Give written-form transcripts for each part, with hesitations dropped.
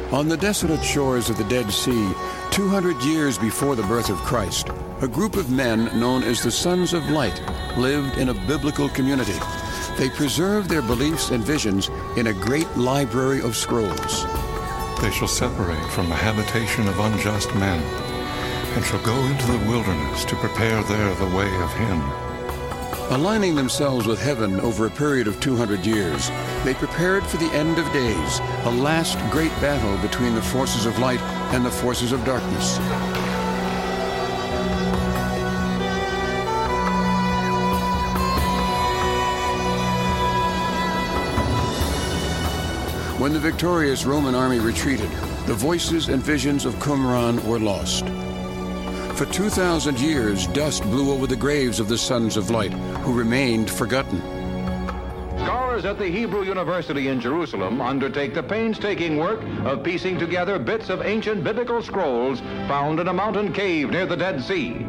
On the desolate shores of the Dead Sea, 200 years before the birth of Christ, a group of men known as the Sons of Light lived in a biblical community. They preserved their beliefs and visions in a great library of scrolls. They shall separate from the habitation of unjust men, and shall go into the wilderness to prepare there the way of him. Aligning themselves with heaven over a period of 200 years, they prepared for the end of days, a last great battle between the forces of light and the forces of darkness. When the victorious Roman army retreated, the voices and visions of Qumran were lost. For 2,000 years, dust blew over the graves of the Sons of Light, who remained forgotten. Scholars at the Hebrew University in Jerusalem undertake the painstaking work of piecing together bits of ancient biblical scrolls found in a mountain cave near the Dead Sea.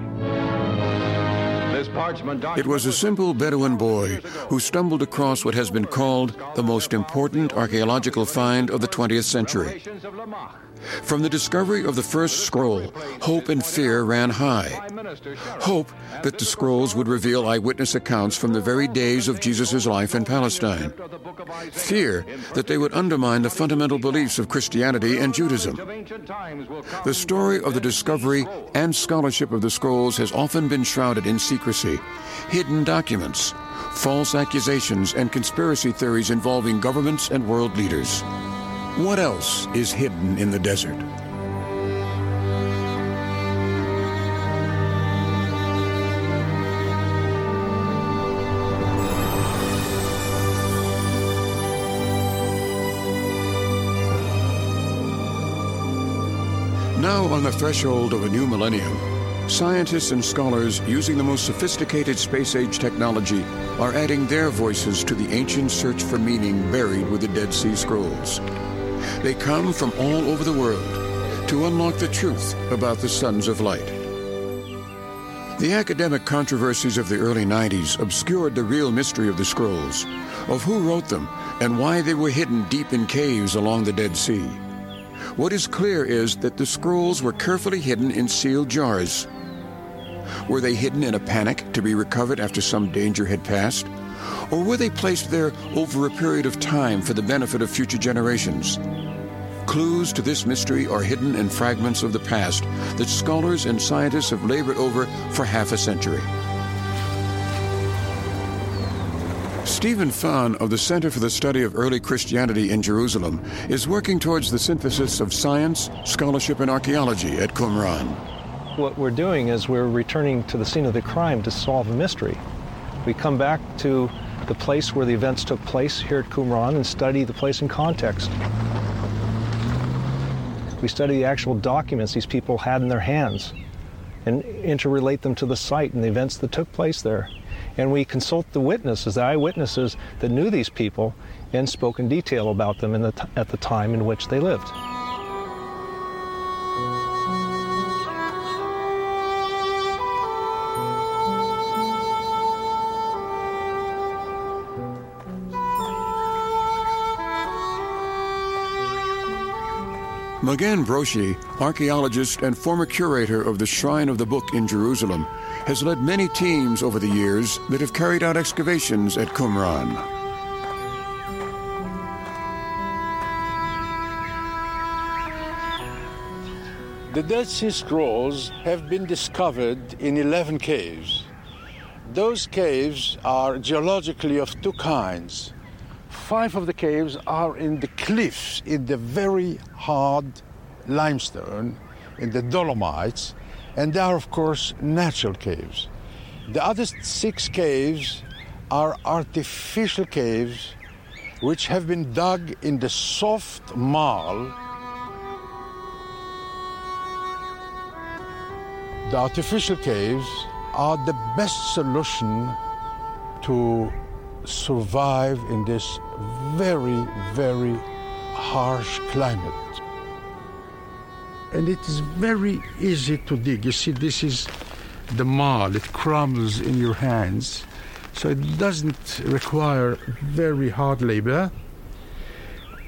It was a simple Bedouin boy who stumbled across what has been called the most important archaeological find of the 20th century. From the discovery of the first scroll, hope and fear ran high. Hope that the scrolls would reveal eyewitness accounts from the very days of Jesus' life in Palestine. Fear that they would undermine the fundamental beliefs of Christianity and Judaism. The story of the discovery and scholarship of the scrolls has often been shrouded in secrecy, hidden documents, false accusations, and conspiracy theories involving governments and world leaders. What else is hidden in the desert? Now on the threshold of a new millennium, scientists and scholars using the most sophisticated space-age technology are adding their voices to the ancient search for meaning buried with the Dead Sea Scrolls. They come from all over the world to unlock the truth about the Sons of Light. The academic controversies of the early 90s obscured the real mystery of the scrolls, of who wrote them and why they were hidden deep in caves along the Dead Sea. What is clear is that the scrolls were carefully hidden in sealed jars. Were they hidden in a panic to be recovered after some danger had passed? Or were they placed there over a period of time for the benefit of future generations? Clues to this mystery are hidden in fragments of the past that scholars and scientists have labored over for half a century. Stephen Fahn of the Center for the Study of Early Christianity in Jerusalem is working towards the synthesis of science, scholarship, and archaeology at Qumran. What we're doing is we're returning to the scene of the crime to solve a mystery. We come back to the place where the events took place here at Qumran and study the place in context. We study the actual documents these people had in their hands and interrelate them to the site and the events that took place there. And we consult the witnesses, the eyewitnesses that knew these people and spoke in detail about them at the time in which they lived. Magen Broshi, archaeologist and former curator of the Shrine of the Book in Jerusalem, has led many teams over the years that have carried out excavations at Qumran. The Dead Sea Scrolls have been discovered in 11 caves. Those caves are geologically of two kinds. 5 of the caves are in the cliffs, in the very hard limestone, in the Dolomites, and they are, of course, natural caves. The other 6 caves are artificial caves which have been dug in the soft marl. The artificial caves are the best solution to survive in this very, very harsh climate. And it is very easy to dig. You see, this is the marl. It crumbles in your hands. So it doesn't require very hard labor.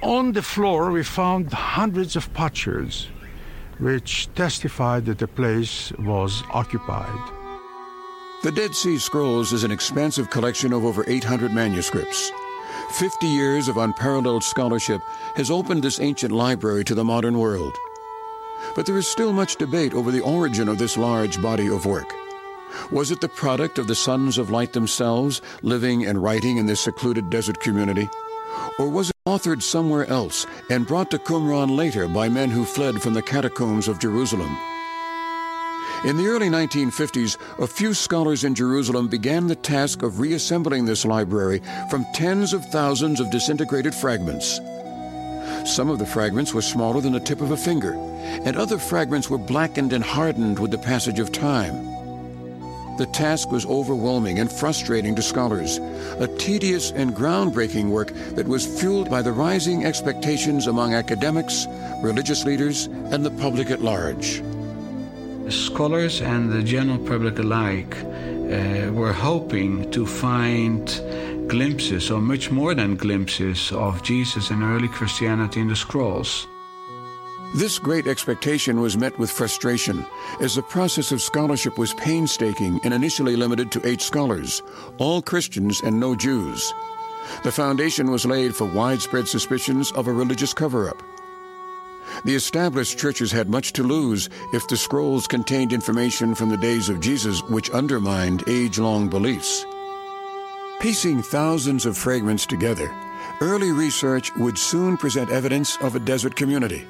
On the floor, we found hundreds of potsherds, which testified that the place was occupied. The Dead Sea Scrolls is an expansive collection of over 800 manuscripts. 50 years of unparalleled scholarship has opened this ancient library to the modern world. But there is still much debate over the origin of this large body of work. Was it the product of the Sons of Light themselves, living and writing in this secluded desert community? Or was it authored somewhere else and brought to Qumran later by men who fled from the catacombs of Jerusalem? In the early 1950s, a few scholars in Jerusalem began the task of reassembling this library from tens of thousands of disintegrated fragments. Some of the fragments were smaller than the tip of a finger, and other fragments were blackened and hardened with the passage of time. The task was overwhelming and frustrating to scholars, a tedious and groundbreaking work that was fueled by the rising expectations among academics, religious leaders, and the public at large. Scholars and the general public alike were hoping to find glimpses, or much more than glimpses, of Jesus and early Christianity in the scrolls. This great expectation was met with frustration, as the process of scholarship was painstaking and initially limited to 8 scholars, all Christians and no Jews. The foundation was laid for widespread suspicions of a religious cover-up. The established churches had much to lose if the scrolls contained information from the days of Jesus which undermined age-long beliefs. Piecing thousands of fragments together, early research would soon present evidence of a desert community.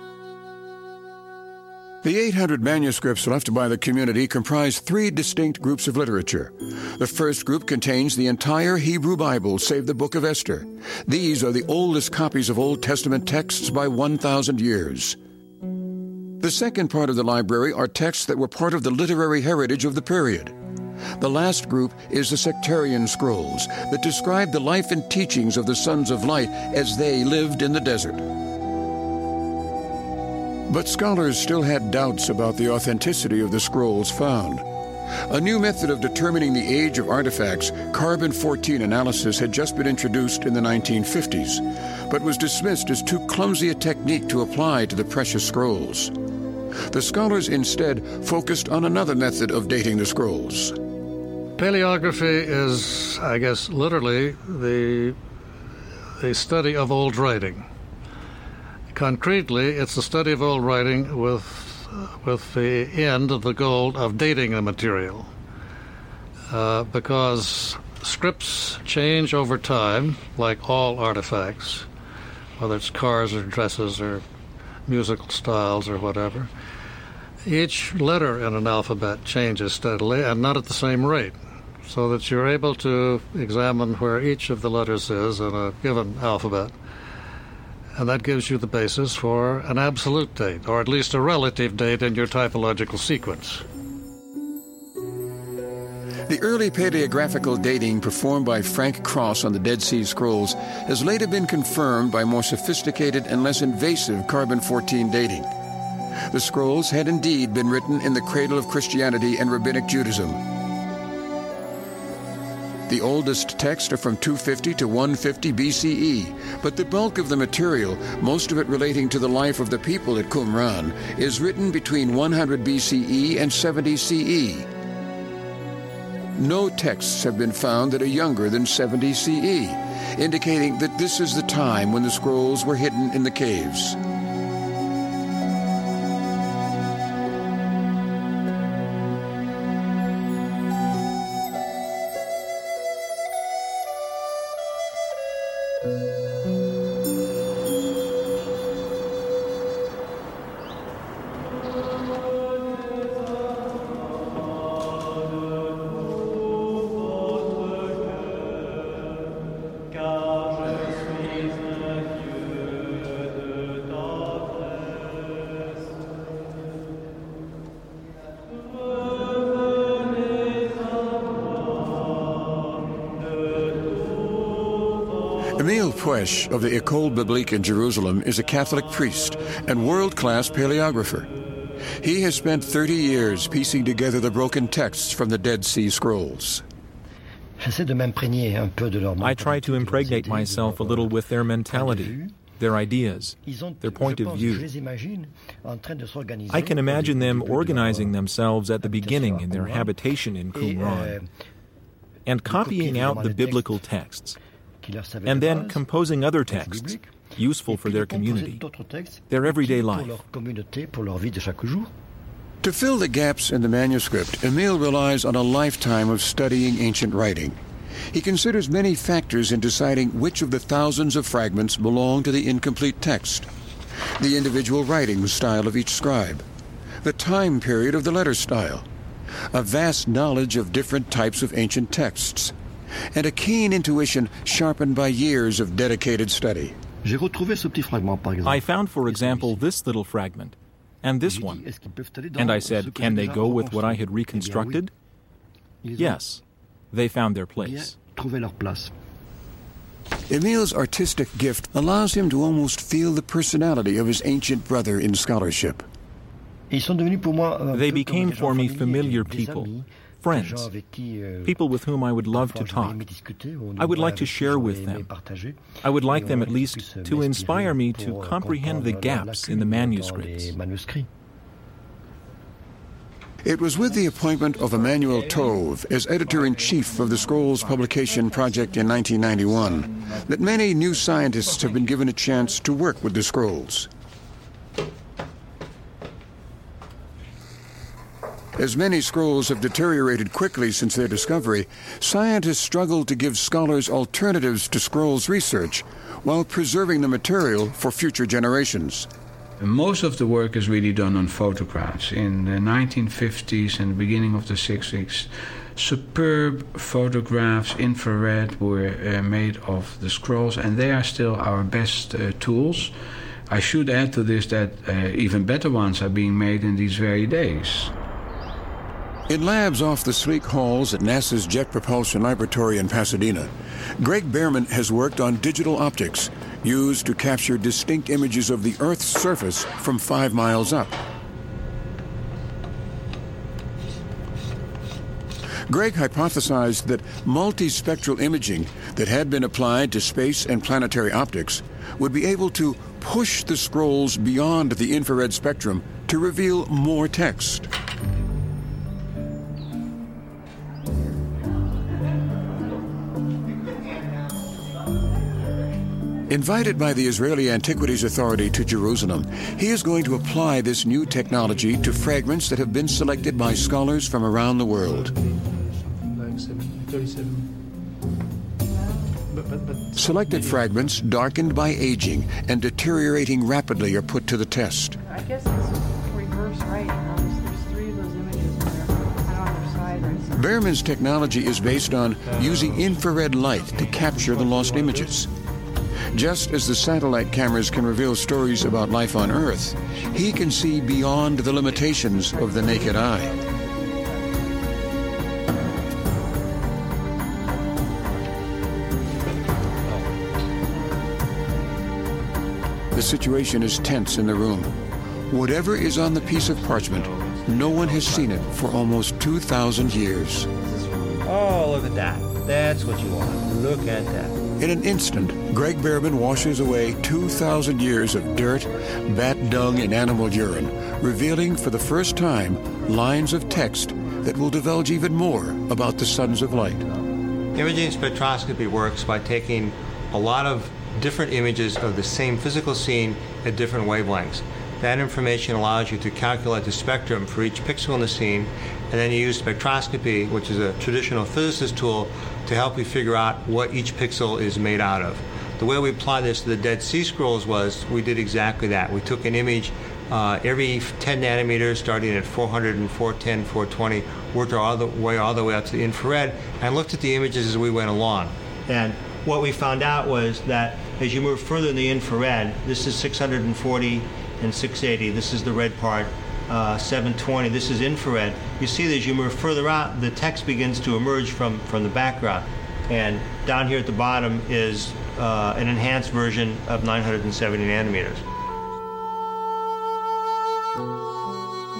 The 800 manuscripts left by the community comprise 3 distinct groups of literature. The first group contains the entire Hebrew Bible, save the Book of Esther. These are the oldest copies of Old Testament texts by 1,000 years. The second part of the library are texts that were part of the literary heritage of the period. The last group is the sectarian scrolls that describe the life and teachings of the Sons of Light as they lived in the desert. But scholars still had doubts about the authenticity of the scrolls found. A new method of determining the age of artifacts, carbon-14 analysis, had just been introduced in the 1950s, but was dismissed as too clumsy a technique to apply to the precious scrolls. The scholars instead focused on another method of dating the scrolls. Paleography is, I guess, literally the study of old writing. Concretely, it's the study of old writing with the end of the goal of dating the material. Because scripts change over time, like all artifacts, whether it's cars or dresses or musical styles or whatever. Each letter in an alphabet changes steadily and not at the same rate, so that you're able to examine where each of the letters is in a given alphabet. And that gives you the basis for an absolute date, or at least a relative date in your typological sequence. The early paleographical dating performed by Frank Cross on the Dead Sea Scrolls has later been confirmed by more sophisticated and less invasive carbon-14 dating. The scrolls had indeed been written in the cradle of Christianity and Rabbinic Judaism. The oldest texts are from 250 to 150 BCE, but the bulk of the material, most of it relating to the life of the people at Qumran, is written between 100 BCE and 70 CE. No texts have been found that are younger than 70 CE, indicating that this is the time when the scrolls were hidden in the caves. Emile Puech of the École Biblique in Jerusalem is a Catholic priest and world-class paleographer. He has spent 30 years piecing together the broken texts from the Dead Sea Scrolls. I try to impregnate myself a little with their mentality. their ideas, their point of view. I can imagine them organizing themselves at the beginning in their habitation in Qumran and copying out the biblical texts, and then composing other texts useful for their community, their everyday life. To fill the gaps in the manuscript, Emile relies on a lifetime of studying ancient writing. He considers many factors in deciding which of the thousands of fragments belong to the incomplete text: the individual writing style of each scribe, the time period of the letter style, a vast knowledge of different types of ancient texts, and a keen intuition sharpened by years of dedicated study. I found, for example, this little fragment and this one, and I said, can they go with what I had reconstructed? Yes, they found their place. Emile's artistic gift allows him to almost feel the personality of his ancient brother in scholarship. They became for me familiar people, friends, people with whom I would love to talk. I would like to share with them. I would like them at least to inspire me to comprehend the gaps in the manuscripts. It was with the appointment of Emmanuel Tove as editor-in-chief of the Scrolls Publication Project in 1991 that many new scientists have been given a chance to work with the scrolls. As many scrolls have deteriorated quickly since their discovery, scientists struggle to give scholars alternatives to scrolls research while preserving the material for future generations. Most of the work is really done on photographs. In the 1950s and the beginning of the 60s, superb photographs, infrared, were made of the scrolls, and they are still our best tools. I should add to this that even better ones are being made in these very days. In labs off the sleek halls at NASA's Jet Propulsion Laboratory in Pasadena, Greg Behrman has worked on digital optics used to capture distinct images of the Earth's surface from 5 miles up. Greg hypothesized that multispectral imaging that had been applied to space and planetary optics would be able to push the scrolls beyond the infrared spectrum to reveal more text. Invited by the Israeli Antiquities Authority to Jerusalem, he is going to apply this new technology to fragments that have been selected by scholars from around the world. Selected fragments darkened by aging and deteriorating rapidly are put to the test. I guess it's reverse right. There's 3 of those images that are kind of on their side right. Behrman's technology is based on using infrared light to capture the lost images. Just as the satellite cameras can reveal stories about life on Earth, he can see beyond the limitations of the naked eye. The situation is tense in the room. Whatever is on the piece of parchment, no one has seen it for almost 2,000 years. Oh, look at that. That's what you want. Look at that. In an instant, Greg Behrman washes away 2,000 years of dirt, bat dung, and animal urine, revealing for the first time lines of text that will divulge even more about the Sons of Light. Imaging spectroscopy works by taking a lot of different images of the same physical scene at different wavelengths. That information allows you to calculate the spectrum for each pixel in the scene, and then you use spectroscopy, which is a traditional physicist tool, to help you figure out what each pixel is made out of. The way we applied this to the Dead Sea Scrolls was we did exactly that. We took an image every 10 nanometers, starting at 400 and 410, 420, worked all the way up to the infrared, and looked at the images as we went along. And what we found out was that as you move further in the infrared, this is 640 and 680, this is the red part, 720, this is infrared. You see that as you move further out, the text begins to emerge from the background. And down here at the bottom is an enhanced version of 970 nanometers.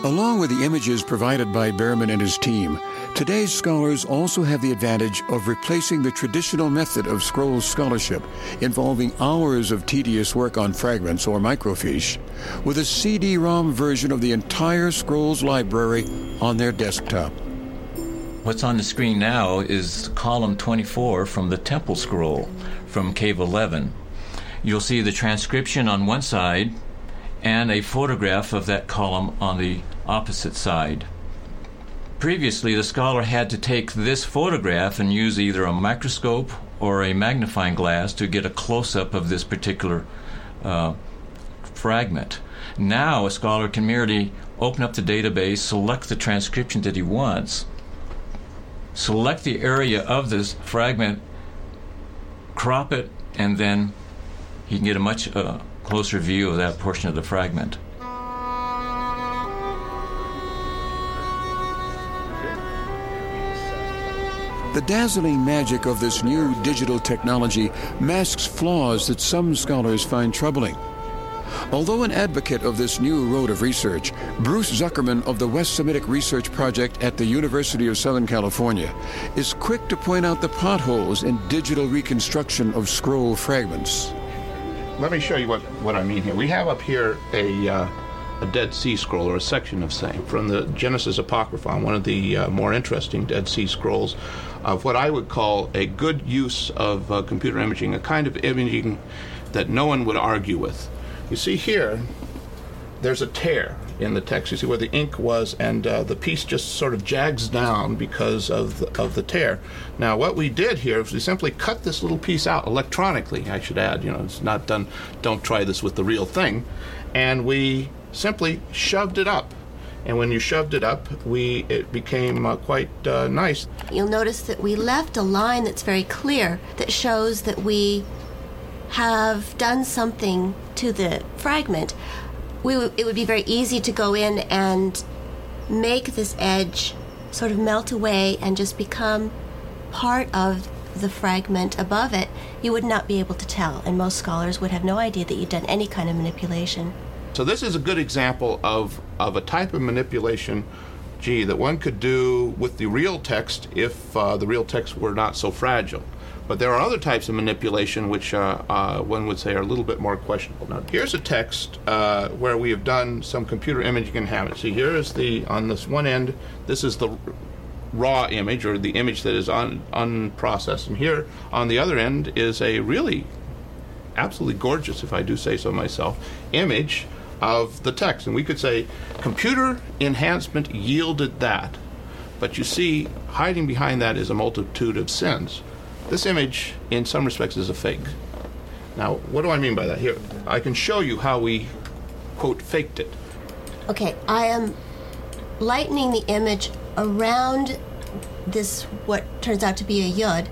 Along with the images provided by Behrman and his team, today's scholars also have the advantage of replacing the traditional method of scroll scholarship, involving hours of tedious work on fragments or microfiche, with a CD-ROM version of the entire scrolls library on their desktop. What's on the screen now is column 24 from the Temple Scroll from Cave 11. You'll see the transcription on one side and a photograph of that column on the opposite side. Previously, the scholar had to take this photograph and use either a microscope or a magnifying glass to get a close-up of this particular fragment. Now, a scholar can merely open up the database, select the transcription that he wants, select the area of this fragment, crop it, and then he can get a much closer view of that portion of the fragment. The dazzling magic of this new digital technology masks flaws that some scholars find troubling. Although an advocate of this new road of research, Bruce Zuckerman of the West Semitic Research Project at the University of Southern California is quick to point out the potholes in digital reconstruction of scroll fragments. Let me show you what I mean here. We have up here a Dead Sea Scroll, or a section of same, from the Genesis Apocryphon, one of the more interesting Dead Sea Scrolls, of what I would call a good use of computer imaging, a kind of imaging that no one would argue with. You see here, there's a tear in the text. You see where the ink was, and the piece just sort of jags down because of the tear. Now, what we did here is we simply cut this little piece out electronically, I should add. You know, it's not done, don't try this with the real thing. And we simply shoved it up. And when you shoved it up, it became quite nice. You'll notice that we left a line that's very clear that shows that we have done something to the fragment. It would be very easy to go in and make this edge sort of melt away and just become part of the fragment above it. You would not be able to tell, and most scholars would have no idea that you'd done any kind of manipulation. So this is a good example of a type of manipulation, that one could do with the real text if the real text were not so fragile. But there are other types of manipulation which one would say are a little bit more questionable. Now, here's a text where we have done some computer imaging and have it. See, here is on this one end, this is the raw image, or the image that is unprocessed. And here on the other end is a really absolutely gorgeous, if I do say so myself, image of the text. And we could say computer enhancement yielded that. But you see, hiding behind that is a multitude of sins. This image, in some respects, is a fake. Now, what do I mean by that? Here, I can show you how we, quote, faked it. Okay, I am lightening the image around this, what turns out to be a yud,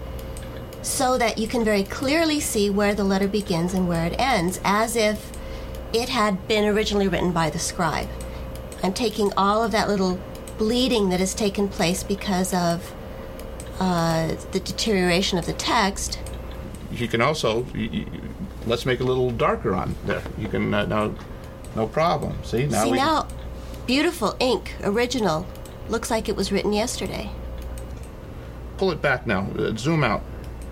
so that you can very clearly see where the letter begins and where it ends, as if it had been originally written by the scribe. I'm taking all of that little bleeding that has taken place because of the deterioration of the text. You can also, let's make it a little darker on there. You can, now, no problem. See, now beautiful ink, original. Looks like it was written yesterday. Pull it back now, zoom out.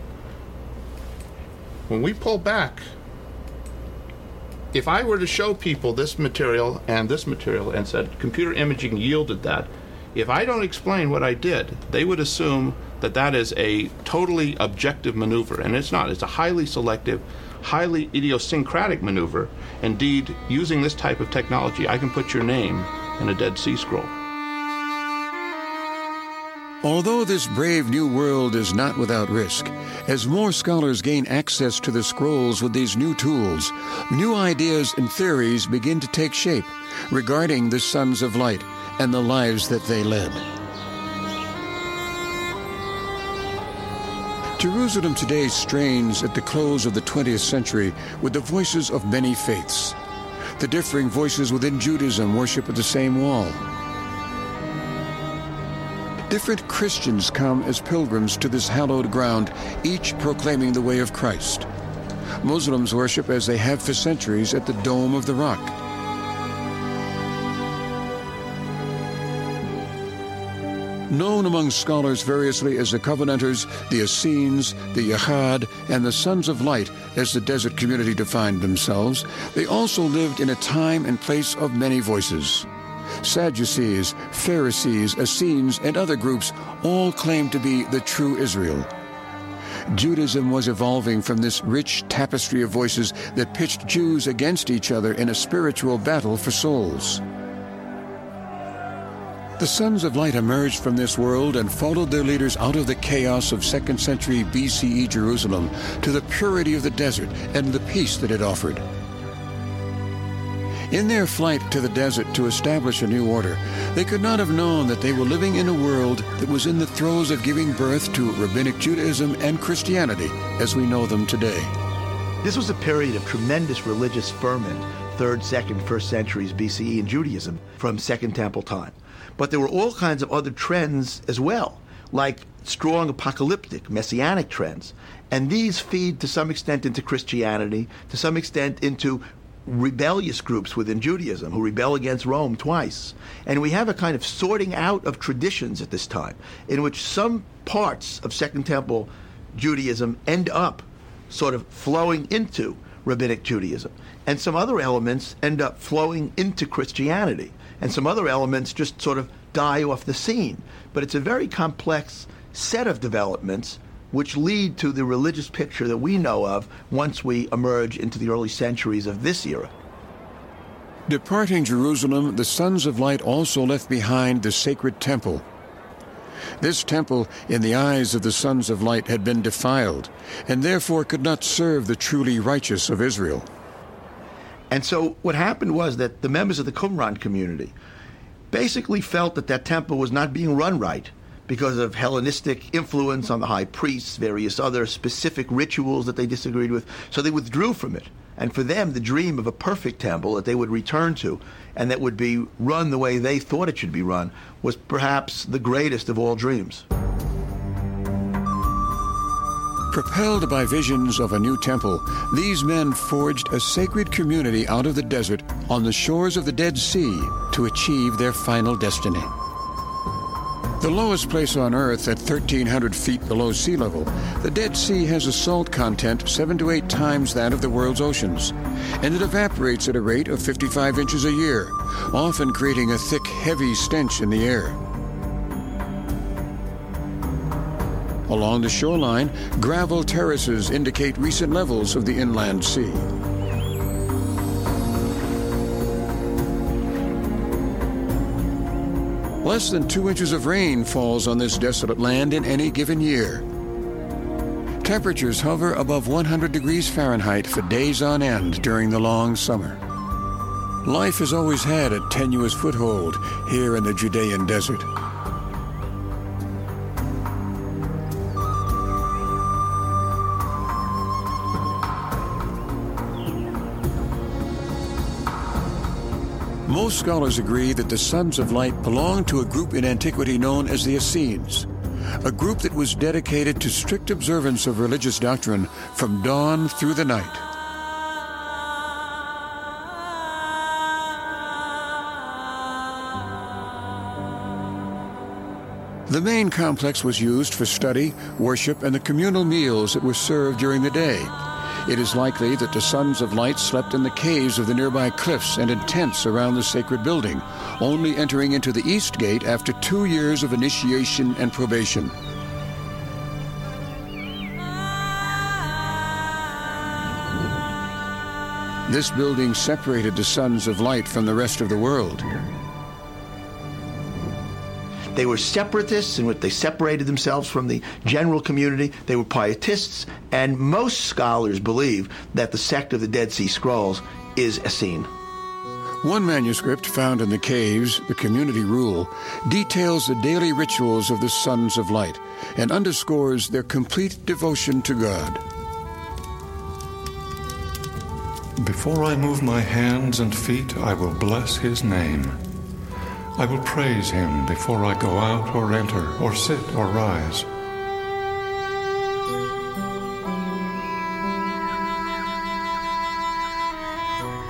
When we pull back, if I were to show people this material and said computer imaging yielded that, if I don't explain what I did, they would assume that that is a totally objective maneuver, and it's not. It's a highly selective, highly idiosyncratic maneuver. Indeed, using this type of technology, I can put your name in a Dead Sea Scroll. Although this brave new world is not without risk, as more scholars gain access to the scrolls with these new tools, new ideas and theories begin to take shape regarding the sons of light and the lives that they led. Jerusalem today strains at the close of the 20th century with the voices of many faiths. The differing voices within Judaism worship at the same wall. Different Christians come as pilgrims to this hallowed ground, each proclaiming the way of Christ. Muslims worship as they have for centuries at the Dome of the Rock. Known among scholars variously as the Covenanters, the Essenes, the Yahad, and the Sons of Light, as the desert community defined themselves, they also lived in a time and place of many voices. Sadducees, Pharisees, Essenes, and other groups all claimed to be the true Israel. Judaism was evolving from this rich tapestry of voices that pitched Jews against each other in a spiritual battle for souls. The Sons of Light emerged from this world and followed their leaders out of the chaos of 2nd century BCE Jerusalem to the purity of the desert and the peace that it offered. In their flight to the desert to establish a new order, they could not have known that they were living in a world that was in the throes of giving birth to Rabbinic Judaism and Christianity as we know them today. This was a period of tremendous religious ferment, 3rd, 2nd, 1st centuries BCE in Judaism from Second Temple time. But there were all kinds of other trends as well, like strong apocalyptic, messianic trends. And these feed to some extent into Christianity, to some extent into rebellious groups within Judaism who rebel against Rome twice. And we have a kind of sorting out of traditions at this time, in which some parts of Second Temple Judaism end up sort of flowing into Rabbinic Judaism. And some other elements end up flowing into Christianity. And some other elements just sort of die off the scene. But it's a very complex set of developments which lead to the religious picture that we know of once we emerge into the early centuries of this era. Departing Jerusalem, the Sons of Light also left behind the sacred temple. This temple, in the eyes of the Sons of Light, had been defiled, and therefore could not serve the truly righteous of Israel. And so what happened was that the members of the Qumran community basically felt that that temple was not being run right because of Hellenistic influence on the high priests, various other specific rituals that they disagreed with. So they withdrew from it. And for them, the dream of a perfect temple that they would return to and that would be run the way they thought it should be run was perhaps the greatest of all dreams. Propelled by visions of a new temple, these men forged a sacred community out of the desert on the shores of the Dead Sea to achieve their final destiny. The lowest place on Earth at 1,300 feet below sea level, the Dead Sea has a salt content 7 to 8 times that of the world's oceans, and it evaporates at a rate of 55 inches a year, often creating a thick, heavy stench in the air. Along the shoreline, gravel terraces indicate recent levels of the inland sea. Less than 2 inches of rain falls on this desolate land in any given year. Temperatures hover above 100 degrees Fahrenheit for days on end during the long summer. Life has always had a tenuous foothold here in the Judean desert. Most scholars agree that the Sons of Light belonged to a group in antiquity known as the Essenes, a group that was dedicated to strict observance of religious doctrine from dawn through the night. The main complex was used for study, worship, and the communal meals that were served during the day. It is likely that the Sons of Light slept in the caves of the nearby cliffs and in tents around the sacred building, only entering into the east gate after 2 years of initiation and probation. This building separated the Sons of Light from the rest of the world. They were separatists in which they separated themselves from the general community. They were pietists, and most scholars believe that the sect of the Dead Sea Scrolls is Essene. One manuscript found in the caves, the Community Rule, details the daily rituals of the Sons of Light and underscores their complete devotion to God. Before I move my hands and feet, I will bless his name. I will praise him before I go out or enter, or sit or rise.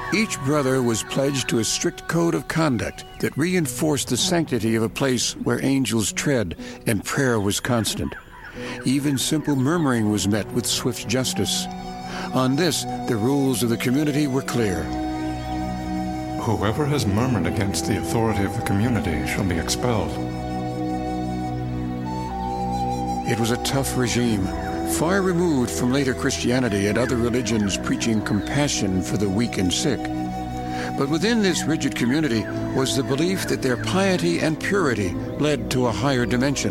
Each brother was pledged to a strict code of conduct that reinforced the sanctity of a place where angels tread and prayer was constant. Even simple murmuring was met with swift justice. On this, the rules of the community were clear. Whoever has murmured against the authority of the community shall be expelled. It was a tough regime, far removed from later Christianity and other religions preaching compassion for the weak and sick. But within this rigid community was the belief that their piety and purity led to a higher dimension.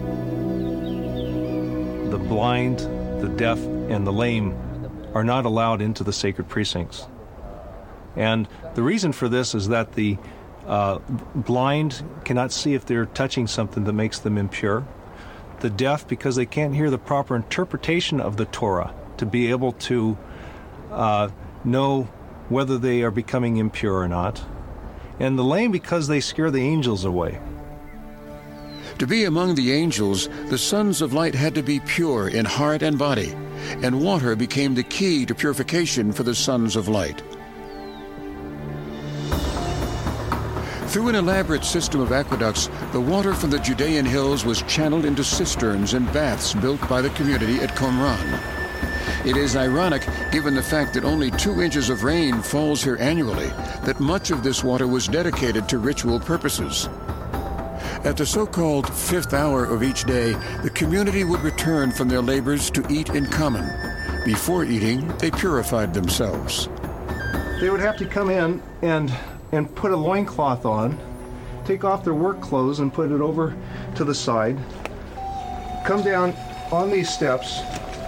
The blind, the deaf, and the lame are not allowed into the sacred precincts. And the reason for this is that the blind cannot see if they're touching something that makes them impure. The deaf, because they can't hear the proper interpretation of the Torah to be able to know whether they are becoming impure or not. And the lame, because they scare the angels away. To be among the angels, the sons of light had to be pure in heart and body, and water became the key to purification for the sons of light. Through an elaborate system of aqueducts, the water from the Judean hills was channeled into cisterns and baths built by the community at Qumran. It is ironic, given the fact that only 2 inches of rain falls here annually, that much of this water was dedicated to ritual purposes. At the so-called 5th hour of each day, the community would return from their labors to eat in common. Before eating, they purified themselves. They would have to come in and put a loincloth on, take off their work clothes and put it over to the side, come down on these steps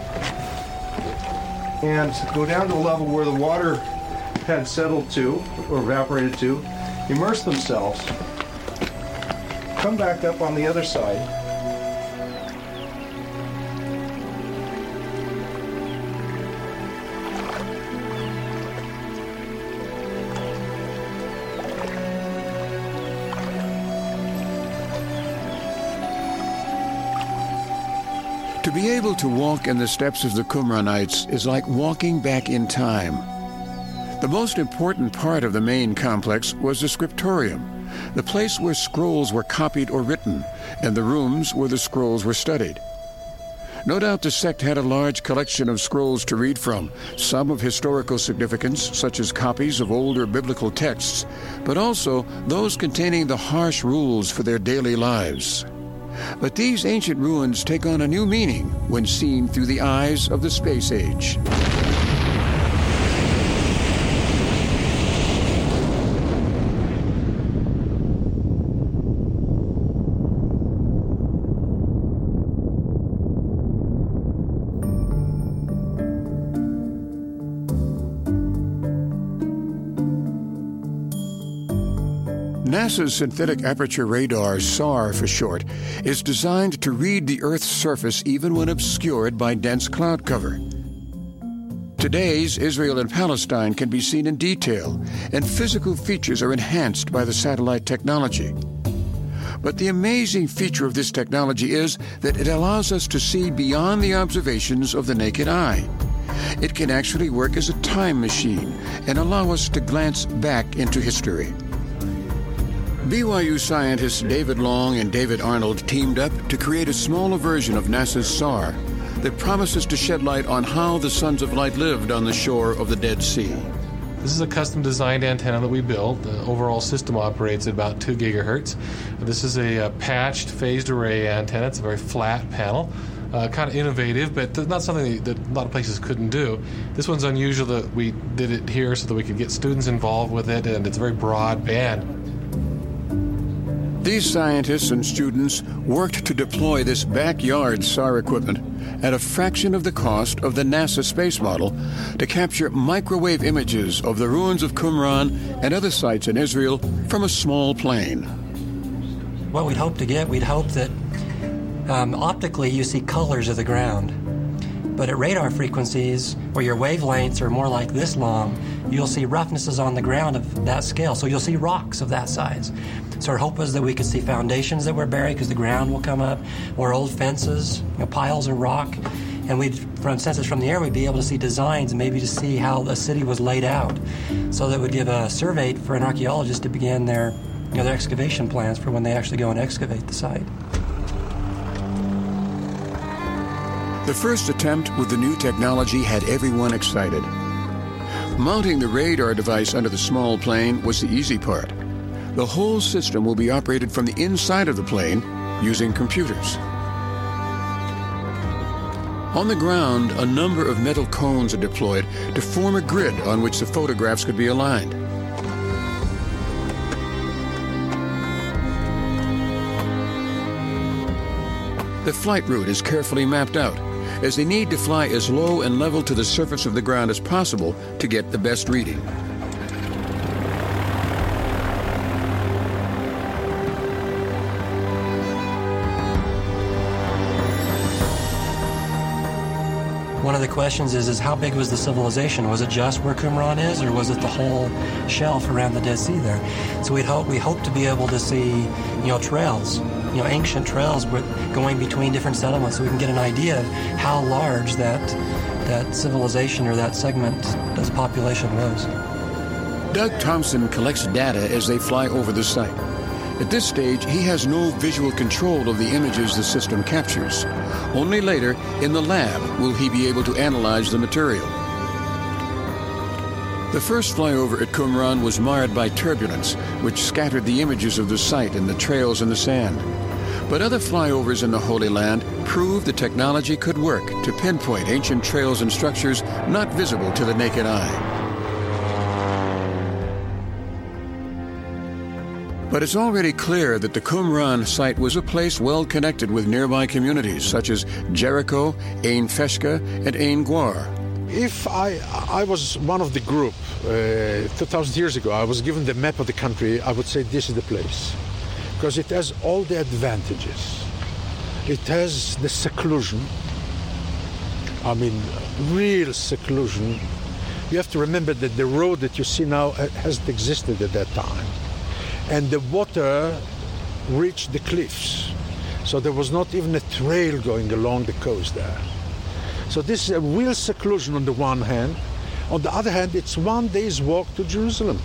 and go down to a level where the water had settled to, or evaporated to, immerse themselves, come back up on the other side, To be able to walk in the steps of the Qumranites is like walking back in time. The most important part of the main complex was the scriptorium, the place where scrolls were copied or written, and the rooms where the scrolls were studied. No doubt the sect had a large collection of scrolls to read from, some of historical significance, such as copies of older biblical texts, but also those containing the harsh rules for their daily lives. But these ancient ruins take on a new meaning when seen through the eyes of the space age. NASA's Synthetic Aperture Radar, SAR for short, is designed to read the Earth's surface even when obscured by dense cloud cover. Today's Israel and Palestine can be seen in detail, and physical features are enhanced by the satellite technology. But the amazing feature of this technology is that it allows us to see beyond the observations of the naked eye. It can actually work as a time machine and allow us to glance back into history. BYU scientists David Long and David Arnold teamed up to create a smaller version of NASA's SAR that promises to shed light on how the Sons of Light lived on the shore of the Dead Sea. This is a custom-designed antenna that we built. The overall system operates at about 2 gigahertz. This is a patched phased array antenna. It's a very flat panel. Kind of innovative, but not something that a lot of places couldn't do. This one's unusual that we did it here so that we could get students involved with it, and it's a very broad band. These scientists and students worked to deploy this backyard SAR equipment at a fraction of the cost of the NASA space model to capture microwave images of the ruins of Qumran and other sites in Israel from a small plane. What we'd hope that optically you see colors of the ground. But at radar frequencies, where your wavelengths are more like this long, you'll see roughnesses on the ground of that scale. So you'll see rocks of that size. So our hope was that we could see foundations that were buried because the ground will come up, or old fences, piles of rock. And from census from the air, we'd be able to see designs and maybe to see how a city was laid out. So that would give a survey for an archaeologist to begin their excavation plans for when they actually go and excavate the site. The first attempt with the new technology had everyone excited. Mounting the radar device under the small plane was the easy part. The whole system will be operated from the inside of the plane using computers. On the ground, a number of metal cones are deployed to form a grid on which the photographs could be aligned. The flight route is carefully mapped out, as they need to fly as low and level to the surface of the ground as possible to get the best reading. One of the questions is how big was the civilization? Was it just where Qumran is, or was it the whole shelf around the Dead Sea there? So we hope to be able to see, trails, ancient trails going between different settlements, so we can get an idea of how large that civilization or that segment of population was. Doug Thompson collects data as they fly over the site. At this stage, he has no visual control of the images the system captures. Only later, in the lab, will he be able to analyze the material. The first flyover at Qumran was marred by turbulence, which scattered the images of the site and the trails in the sand. But other flyovers in the Holy Land proved the technology could work to pinpoint ancient trails and structures not visible to the naked eye. But it's already clear that the Qumran site was a place well connected with nearby communities such as Jericho, Ain Feshka, and Ain Gwar. If I was one of the group 2,000 years ago, I was given the map of the country, I would say this is the place. Because it has all the advantages. It has the seclusion. Real seclusion. You have to remember that the road that you see now hasn't existed at that time. And the water reached the cliffs. So there was not even a trail going along the coast there. So this is a real seclusion on the one hand. On the other hand, it's 1 day's walk to Jerusalem.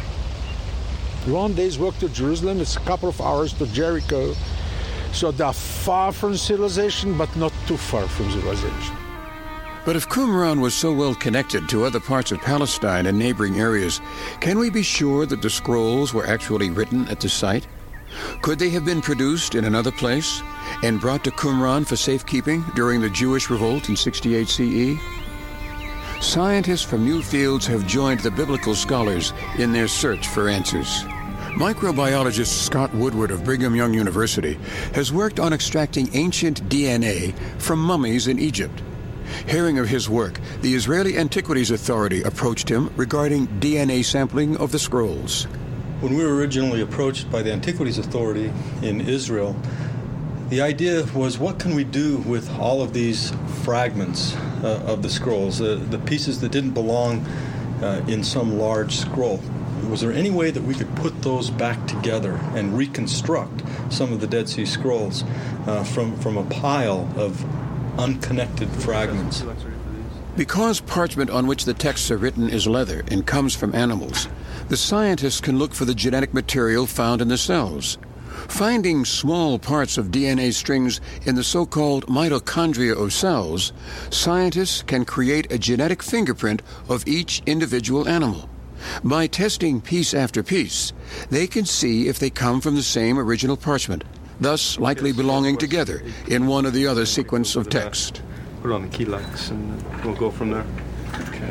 1 day's walk to Jerusalem, it's a couple of hours to Jericho. So they are far from civilization, but not too far from civilization. But if Qumran was so well connected to other parts of Palestine and neighboring areas, can we be sure that the scrolls were actually written at the site? Could they have been produced in another place and brought to Qumran for safekeeping during the Jewish revolt in 68 CE? Scientists from new fields have joined the biblical scholars in their search for answers. Microbiologist Scott Woodward of Brigham Young University has worked on extracting ancient DNA from mummies in Egypt. Hearing of his work, the Israeli Antiquities Authority approached him regarding DNA sampling of the scrolls. When we were originally approached by the Antiquities Authority in Israel, the idea was, what can we do with all of these fragments of the scrolls, the pieces that didn't belong in some large scroll? Was there any way that we could put those back together and reconstruct some of the Dead Sea Scrolls from a pile of unconnected fragments? Because parchment on which the texts are written is leather and comes from animals, the scientists can look for the genetic material found in the cells. Finding small parts of DNA strings in the so-called mitochondria of cells, scientists can create a genetic fingerprint of each individual animal. By testing piece after piece, they can see if they come from the same original parchment, thus likely belonging together in one or the other sequence of text. Put it on the keylex and we'll go from there. Okay.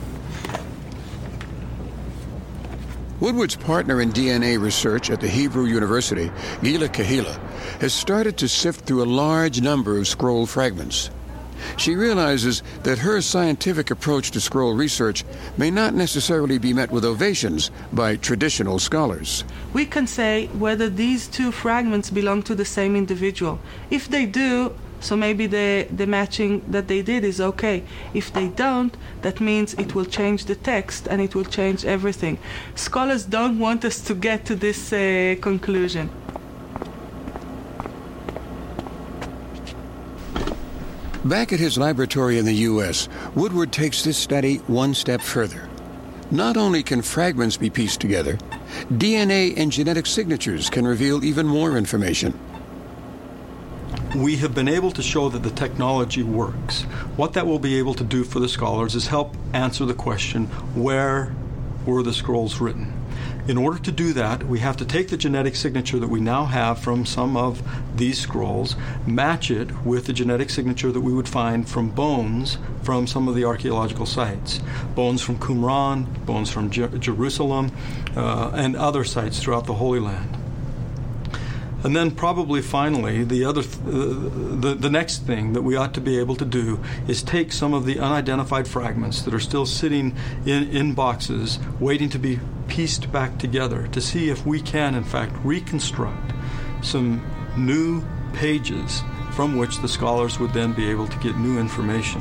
Woodward's partner in DNA research at the Hebrew University, Gila Kahila, has started to sift through a large number of scroll fragments. She realizes that her scientific approach to scroll research may not necessarily be met with ovations by traditional scholars. We can say whether these two fragments belong to the same individual. If they do, so maybe the matching that they did is okay. If they don't, that means it will change the text and it will change everything. Scholars don't want us to get to this conclusion. Back at his laboratory in the U.S., Woodward takes this study one step further. Not only can fragments be pieced together, DNA and genetic signatures can reveal even more information. We have been able to show that the technology works. What that will be able to do for the scholars is help answer the question, where were the scrolls written? In order to do that, we have to take the genetic signature that we now have from some of these scrolls, match it with the genetic signature that we would find from bones from some of the archaeological sites. Bones from Qumran, bones from Jerusalem, and other sites throughout the Holy Land. And then probably finally, the next thing that we ought to be able to do is take some of the unidentified fragments that are still sitting in boxes waiting to be pieced back together to see if we can, in fact, reconstruct some new pages from which the scholars would then be able to get new information.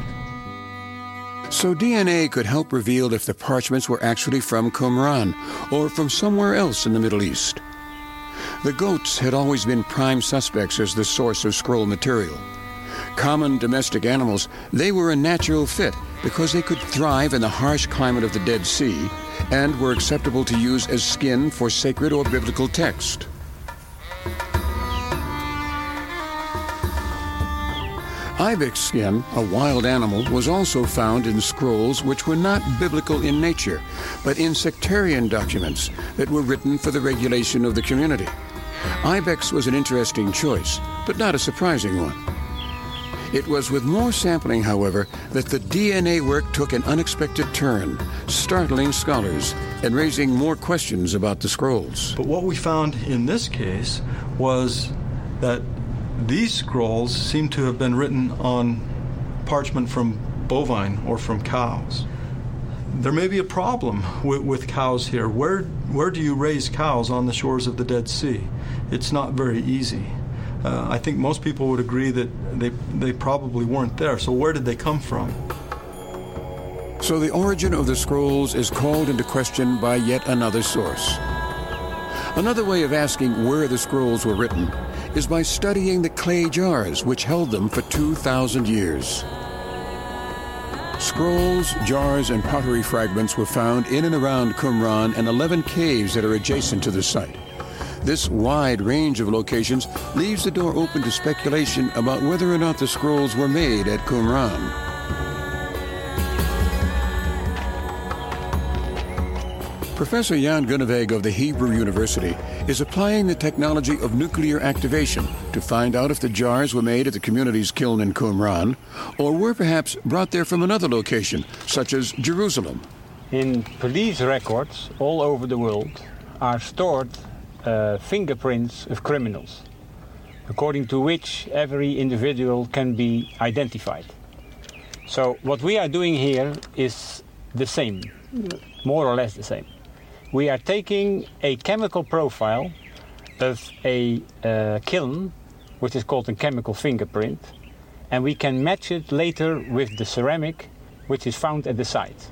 So DNA could help reveal if the parchments were actually from Qumran or from somewhere else in the Middle East. The goats had always been prime suspects as the source of scroll material. Common domestic animals, they were a natural fit because they could thrive in the harsh climate of the Dead Sea and were acceptable to use as skin for sacred or biblical text. Ibex skin, a wild animal, was also found in scrolls which were not biblical in nature, but in sectarian documents that were written for the regulation of the community. Ibex was an interesting choice, but not a surprising one. It was with more sampling, however, that the DNA work took an unexpected turn, startling scholars and raising more questions about the scrolls. But what we found in this case was that these scrolls seem to have been written on parchment from bovine or from cows. There may be a problem with cows here. Where do you raise cows on the shores of the Dead Sea? It's not very easy. I think most people would agree that they probably weren't there. So where did they come from? So the origin of the scrolls is called into question by yet another source. Another way of asking where the scrolls were written is by studying the clay jars which held them for 2,000 years. Scrolls, jars, and pottery fragments were found in and around Qumran and 11 caves that are adjacent to the site. This wide range of locations leaves the door open to speculation about whether or not the scrolls were made at Qumran. Professor Jan Gunneweg of the Hebrew University is applying the technology of nuclear activation to find out if the jars were made at the community's kiln in Qumran or were perhaps brought there from another location, such as Jerusalem. In police records all over the world are stored fingerprints of criminals, according to which every individual can be identified. So what we are doing here is the same, more or less the same. We are taking a chemical profile of a kiln, which is called a chemical fingerprint, and we can match it later with the ceramic which is found at the site.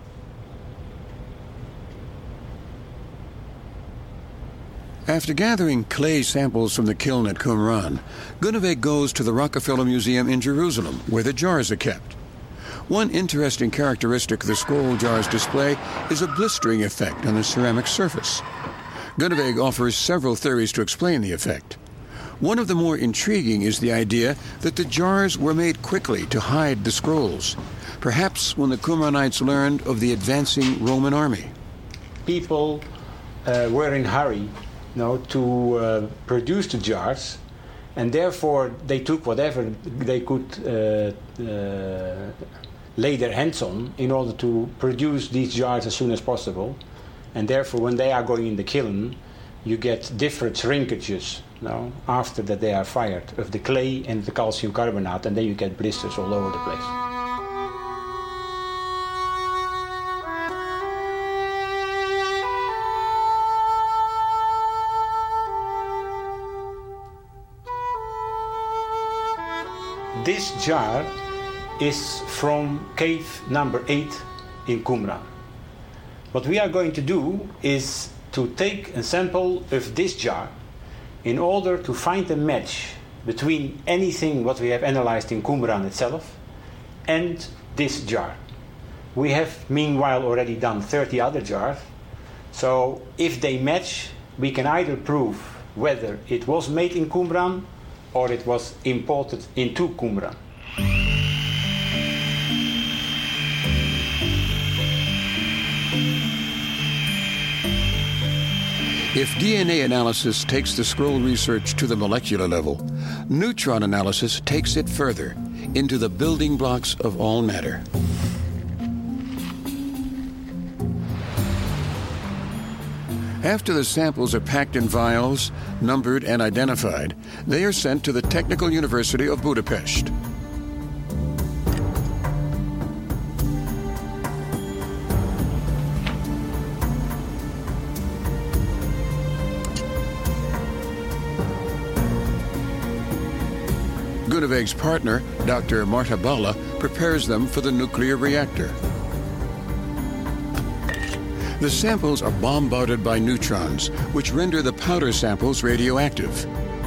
After gathering clay samples from the kiln at Qumran, Gunneweg goes to the Rockefeller Museum in Jerusalem, where the jars are kept. One interesting characteristic the scroll jars display is a blistering effect on the ceramic surface. Gunneweg offers several theories to explain the effect. One of the more intriguing is the idea that the jars were made quickly to hide the scrolls, perhaps when the Qumranites learned of the advancing Roman army. People were in a hurry to produce the jars, and therefore they took whatever they could lay their hands on in order to produce these jars as soon as possible. And therefore, when they are going in the kiln, you get different shrinkages after that they are fired of the clay and the calcium carbonate, and then you get blisters all over the place. This jar is from cave number 8 in Qumran. What we are going to do is to take a sample of this jar in order to find a match between anything what we have analyzed in Qumran itself and this jar. We have meanwhile already done 30 other jars, so if they match, we can either prove whether it was made in Qumran or it was imported into Qumran. If DNA analysis takes the scroll research to the molecular level, neutron analysis takes it further, into the building blocks of all matter. After the samples are packed in vials, numbered and identified, they are sent to the Technical University of Budapest. Groeneweeg's partner, Dr. Marta Balla, prepares them for the nuclear reactor. The samples are bombarded by neutrons, which render the powder samples radioactive.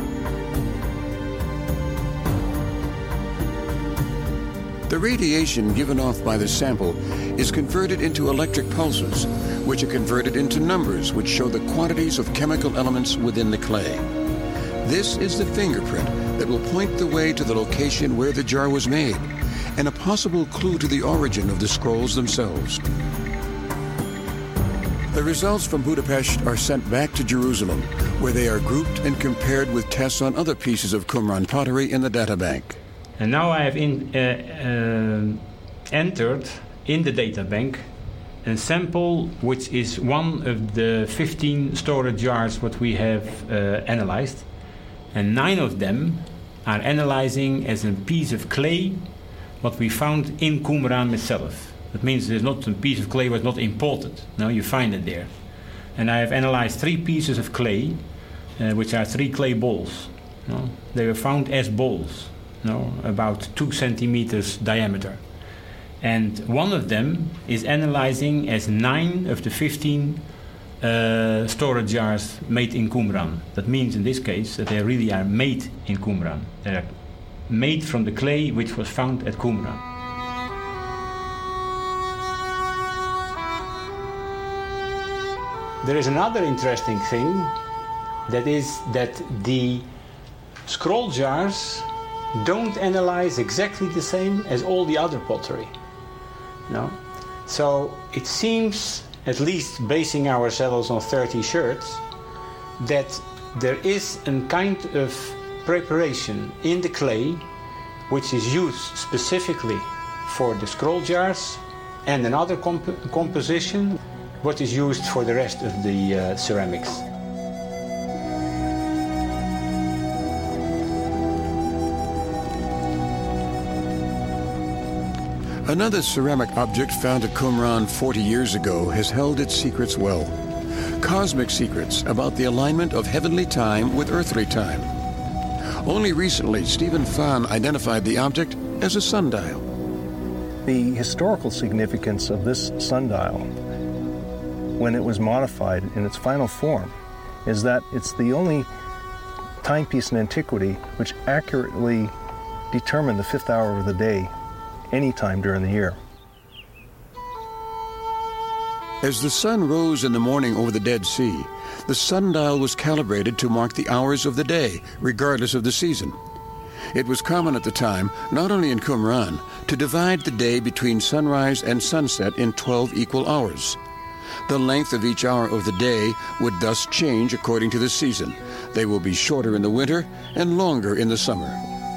The radiation given off by the sample is converted into electric pulses, which are converted into numbers which show the quantities of chemical elements within the clay. This is the fingerprint that will point the way to the location where the jar was made, and a possible clue to the origin of the scrolls themselves. The results from Budapest are sent back to Jerusalem, where they are grouped and compared with tests on other pieces of Qumran pottery in the databank. And now I have entered in the databank a sample which is one of the 15 storage jars what we have analyzed. And 9 of them are analyzing as a piece of clay what we found in Qumran itself. That means there's not a piece of clay was not imported. No, you find it there. And I have analyzed 3 pieces of clay, which are 3 clay balls. No? They were found as balls, no? About 2 centimeters diameter. And one of them is analyzing as 9 of the 15 storage jars made in Qumran. That means in this case that they really are made in Qumran. They are made from the clay which was found at Qumran. There is another interesting thing, that is that the scroll jars don't analyze exactly the same as all the other pottery. No? So it seems, at least basing ourselves on 30 sherds, that there is a kind of preparation in the clay which is used specifically for the scroll jars, and another composition what is used for the rest of the ceramics. Another ceramic object found at Qumran 40 years ago has held its secrets well. Cosmic secrets about the alignment of heavenly time with earthly time. Only recently, Stephen Fahn identified the object as a sundial. The historical significance of this sundial, when it was modified in its final form, is that it's the only timepiece in antiquity which accurately determined the 5th hour of the day any time during the year. As the sun rose in the morning over the Dead Sea, the sundial was calibrated to mark the hours of the day, regardless of the season. It was common at the time, not only in Qumran, to divide the day between sunrise and sunset in 12 equal hours. The length of each hour of the day would thus change according to the season. They will be shorter in the winter and longer in the summer.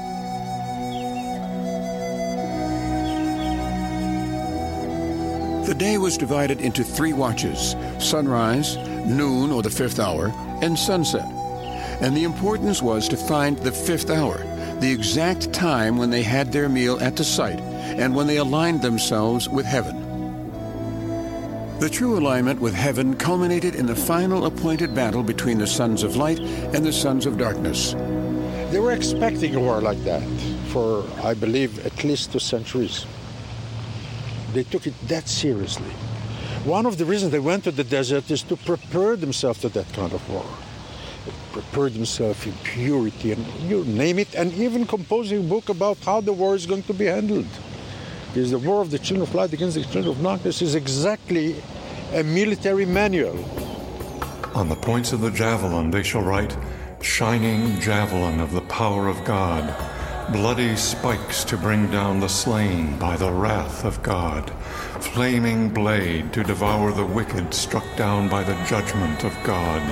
The day was divided into 3 watches: sunrise, noon or the 5th hour, and sunset. And the importance was to find the 5th hour, the exact time when they had their meal at the site and when they aligned themselves with heaven. The true alignment with heaven culminated in the final appointed battle between the sons of light and the sons of darkness. They were expecting a war like that for, I believe, at least 2 centuries. They took it that seriously. One of the reasons they went to the desert is to prepare themselves to that kind of war. prepared himself in purity, and you name it, and even composing a book about how the war is going to be handled. Because the war of the children of light against the children of darkness is exactly a military manual. On the points of the javelin they shall write, "Shining javelin of the power of God, bloody spikes to bring down the slain by the wrath of God, flaming blade to devour the wicked struck down by the judgment of God."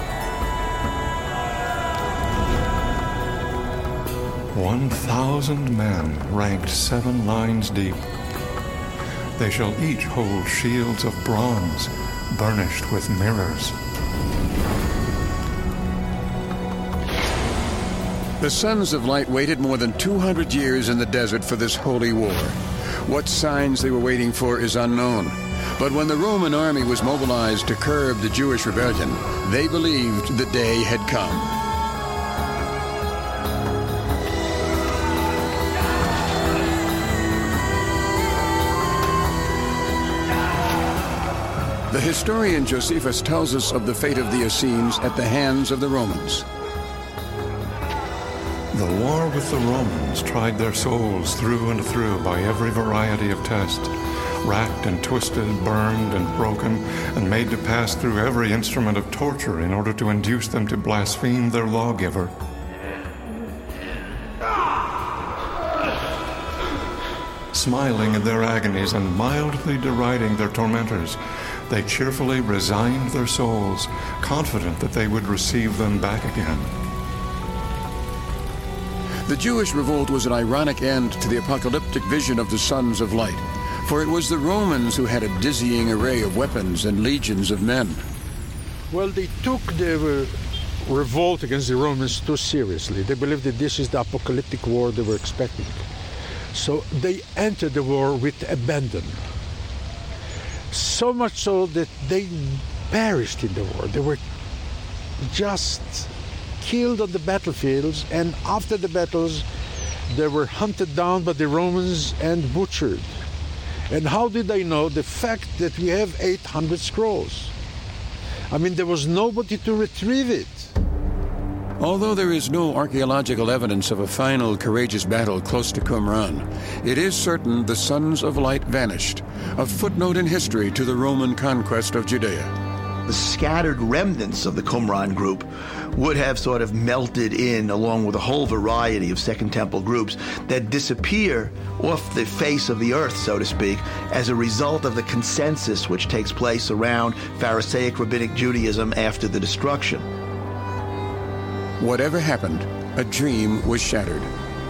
1,000 men ranked 7 lines deep. They shall each hold shields of bronze, burnished with mirrors. The Sons of Light waited more than 200 years in the desert for this holy war. What signs they were waiting for is unknown. But when the Roman army was mobilized to curb the Jewish rebellion, they believed the day had come. The historian Josephus tells us of the fate of the Essenes at the hands of the Romans. The war with the Romans tried their souls through and through by every variety of test, racked and twisted, burned and broken, and made to pass through every instrument of torture in order to induce them to blaspheme their lawgiver. Smiling at their agonies and mildly deriding their tormentors, they cheerfully resigned their souls, confident that they would receive them back again. The Jewish revolt was an ironic end to the apocalyptic vision of the Sons of Light, for it was the Romans who had a dizzying array of weapons and legions of men. Well, they took the revolt against the Romans too seriously. They believed that this is the apocalyptic war they were expecting. So they entered the war with abandon. So much so that they perished in the war. They were just killed on the battlefields, and after the battles they were hunted down by the Romans and butchered. And how did they know? The fact that we have 800 scrolls. I mean, there was nobody to retrieve it. Although there is no archaeological evidence of a final courageous battle close to Qumran, it is certain the Sons of Light vanished, a footnote in history to the Roman conquest of Judea. The scattered remnants of the Qumran group would have sort of melted in along with a whole variety of Second Temple groups that disappear off the face of the earth, so to speak, as a result of the consensus which takes place around Pharisaic Rabbinic Judaism after the destruction. Whatever happened, a dream was shattered.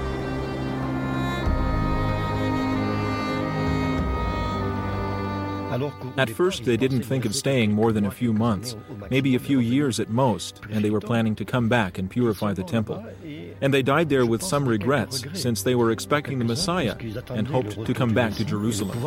At first, they didn't think of staying more than a few months, maybe a few years at most, and they were planning to come back and purify the temple. And they died there with some regrets, since they were expecting the Messiah and hoped to come back to Jerusalem.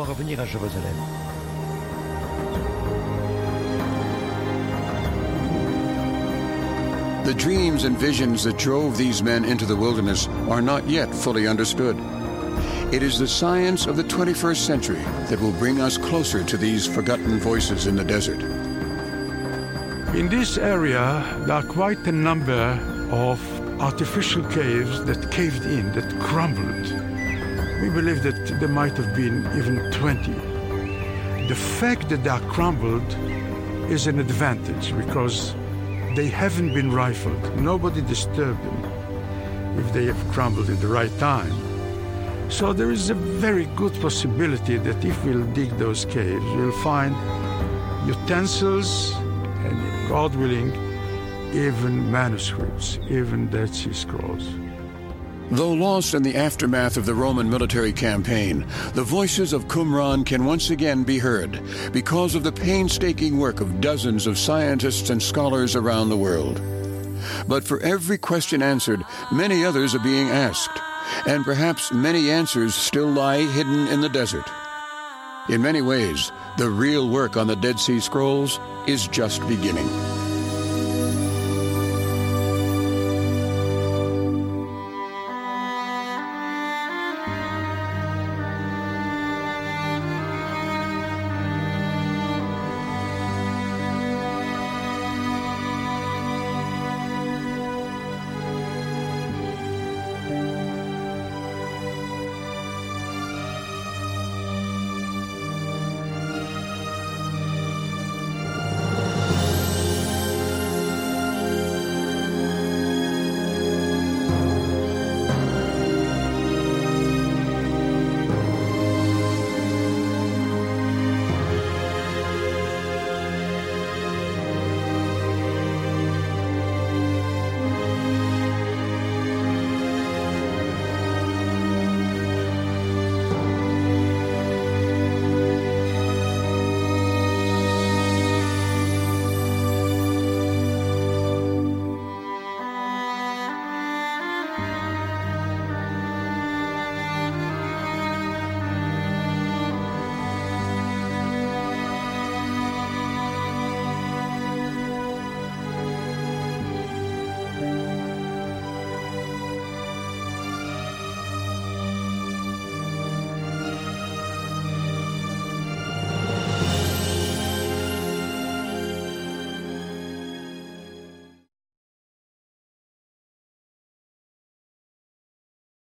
The dreams and visions that drove these men into the wilderness are not yet fully understood. It is the science of the 21st century that will bring us closer to these forgotten voices in the desert. In this area, there are quite a number of artificial caves that caved in, that crumbled. We believe that there might have been even 20. The fact that they are crumbled is an advantage because they haven't been rifled. Nobody disturbed them if they have crumbled at the right time. So there is a very good possibility that if we'll dig those caves, we'll find utensils and, God willing, even manuscripts, even Dead Sea Scrolls. Though lost in the aftermath of the Roman military campaign, the voices of Qumran can once again be heard because of the painstaking work of dozens of scientists and scholars around the world. But for every question answered, many others are being asked, and perhaps many answers still lie hidden in the desert. In many ways, the real work on the Dead Sea Scrolls is just beginning.